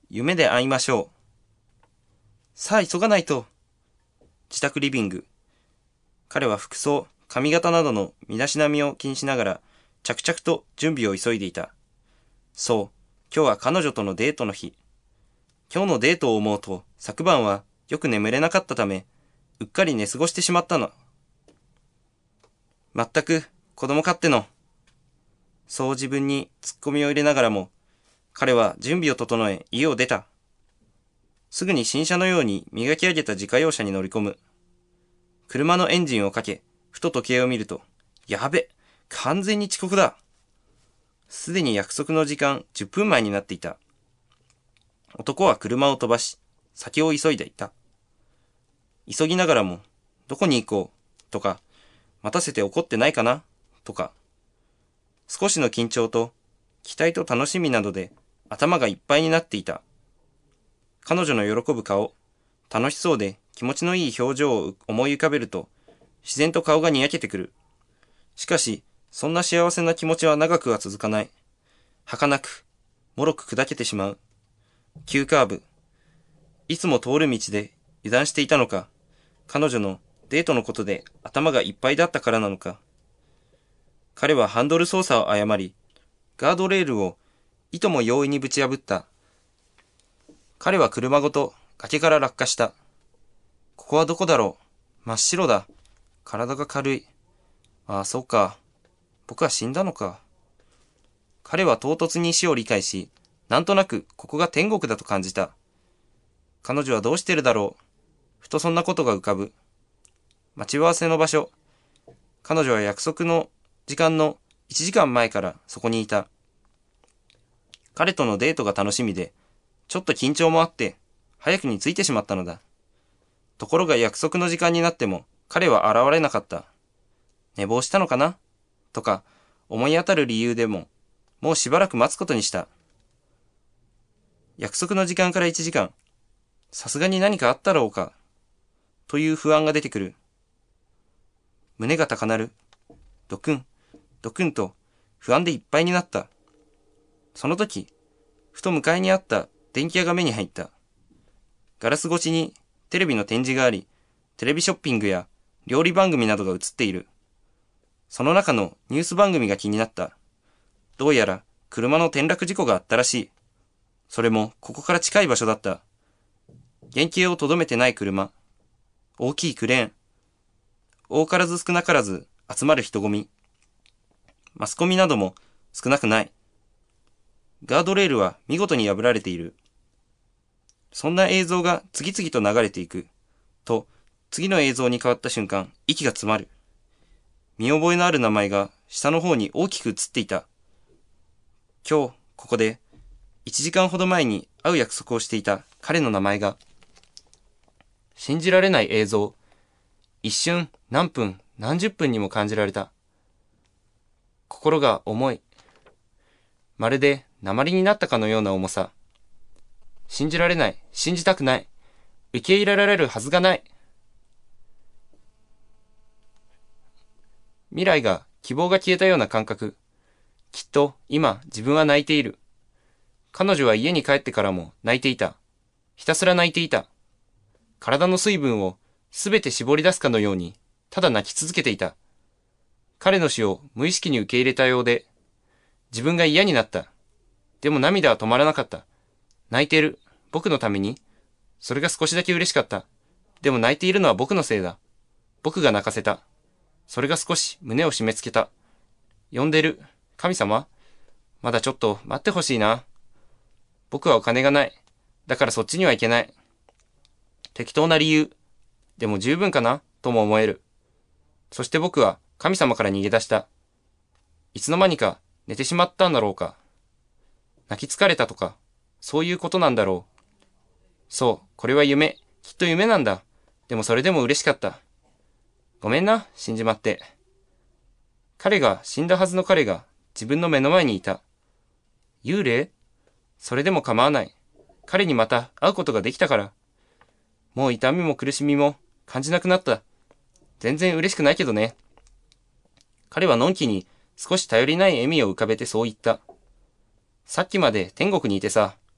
夢で会いましょう。さあ急がないと。自宅リビング。彼は服装、髪型などの身だしなみを気にしながら、着々と準備を急いでいた。そう、今日は彼女とのデートの日。今日のデートを思うと、昨晩はよく眠れなかったため、うっかり寝過ごしてしまったの。まったく、子供勝手の。そう自分にツッコミを入れながらも、彼は準備を整え家を出た。すぐに新車のように磨き上げた自家用車に乗り込む。車のエンジンをかけ、ふと時計を見ると、やべ、完全に遅刻だ。すでに約束の時間10分前になっていた。男は車を飛ばし、先を急いでいた。急ぎながらも、どこに行こう、とか、待たせて怒ってないかな、とか。少しの緊張と、期待と楽しみなどで頭がいっぱいになっていた。彼女の喜ぶ顔、楽しそうで気持ちのいい表情を思い浮かべると、自然と顔がにやけてくる。しかし、そんな幸せな気持ちは長くは続かない。儚く、もろく砕けてしまう。急カーブ。いつも通る道で油断していたのか、彼女のデートのことで頭がいっぱいだったからなのか。彼はハンドル操作を誤り、ガードレールをいとも容易にぶち破った。彼は車ごと崖から落下した。ここはどこだろう。真っ白だ。体が軽い。ああ、そうか。僕は死んだのか。彼は唐突に死を理解し、なんとなくここが天国だと感じた。彼女はどうしてるだろう。ふとそんなことが浮かぶ。待ち合わせの場所。彼女は約束の時間の1時間前からそこにいた。彼とのデートが楽しみで、ちょっと緊張もあって、早くに着いてしまったのだ。ところが約束の時間になっても、彼は現れなかった。寝坊したのかなとか、思い当たる理由でも、もうしばらく待つことにした。約束の時間から1時間。さすがに何かあったろうか。という不安が出てくる。胸が高鳴る。ドクン、ドクンと不安でいっぱいになった。その時、ふと向かいにあった電気屋が目に入った。ガラス越しにテレビの展示があり、テレビショッピングや料理番組などが映っている。その中のニュース番組が気になった。どうやら車の転落事故があったらしい。それもここから近い場所だった。原型をとどめてない車。大きいクレーン。多からず少なからず集まる人混み。マスコミなども少なくない。ガードレールは見事に破られている。そんな映像が次々と流れていく。と、次の映像に変わった瞬間、息が詰まる。見覚えのある名前が下の方に大きく映っていた。今日、ここで、1時間ほど前に会う約束をしていた彼の名前が。信じられない映像。一瞬、何分、何十分にも感じられた。心が重い。まるで鉛になったかのような重さ。信じられない。信じたくない。受け入れられるはずがない。未来が、希望が消えたような感覚。きっと、今、自分は泣いている。彼女は家に帰ってからも泣いていた。ひたすら泣いていた。体の水分をすべて絞り出すかのように、ただ泣き続けていた。彼の死を無意識に受け入れたようで、自分が嫌になった。でも涙は止まらなかった。泣いている。僕のために。それが少しだけ嬉しかった。でも泣いているのは僕のせいだ。僕が泣かせた。それが少し胸を締め付けた。呼んでる。神様？まだちょっと待ってほしいな。僕はお金がない。だからそっちには行けない。適当な理由。でも十分かなとも思える。そして僕は神様から逃げ出した。いつの間にか寝てしまったんだろうか。泣き疲れたとか、そういうことなんだろう。そう、これは夢。きっと夢なんだ。でもそれでも嬉しかった。ごめんな、死んじまって。死んだはずの彼が自分の目の前にいた。幽霊？それでも構わない。彼にまた会うことができたから。もう痛みも苦しみも感じなくなった。全然嬉しくないけどね。彼はのんきに少し頼りない笑みを浮かべてそう言った。さっきまで天国にいてさ、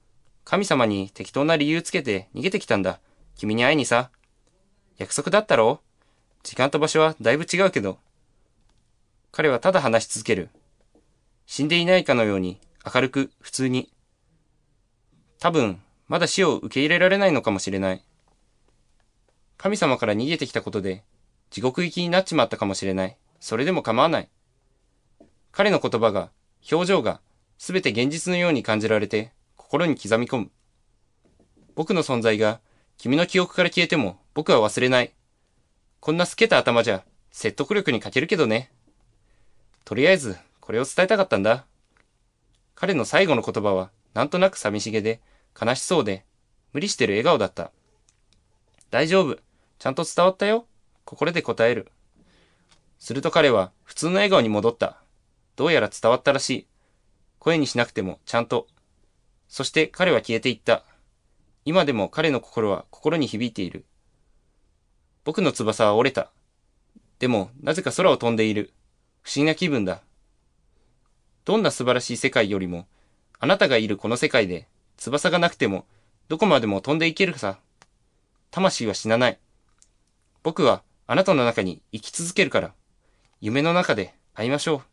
神様に適当な理由つけて逃げてきたんだ。君に会いにさ。約束だったろ？時間と場所はだいぶ違うけど。彼はただ話し続ける。死んでいないかのように明るく普通に。多分、まだ死を受け入れられないのかもしれない。神様から逃げてきたことで地獄行きになっちまったかもしれない。それでも構わない。彼の言葉が、表情が、すべて現実のように感じられて、心に刻み込む。僕の存在が、君の記憶から消えても、僕は忘れない。こんな透けた頭じゃ、説得力に欠けるけどね。とりあえず、これを伝えたかったんだ。彼の最後の言葉は、なんとなく寂しげで、悲しそうで、無理してる笑顔だった。大丈夫。ちゃんと伝わったよ。心で答える。すると彼は、普通の笑顔に戻った。どうやら伝わったらしい。声にしなくても、ちゃんと。そして彼は消えていった。今でも彼の心は心に響いている。僕の翼は折れた。でも、なぜか空を飛んでいる。不思議な気分だ。どんな素晴らしい世界よりも、あなたがいるこの世界で、翼がなくても、どこまでも飛んでいけるさ。魂は死なない。僕はあなたの中に生き続けるから。夢の中で会いましょう。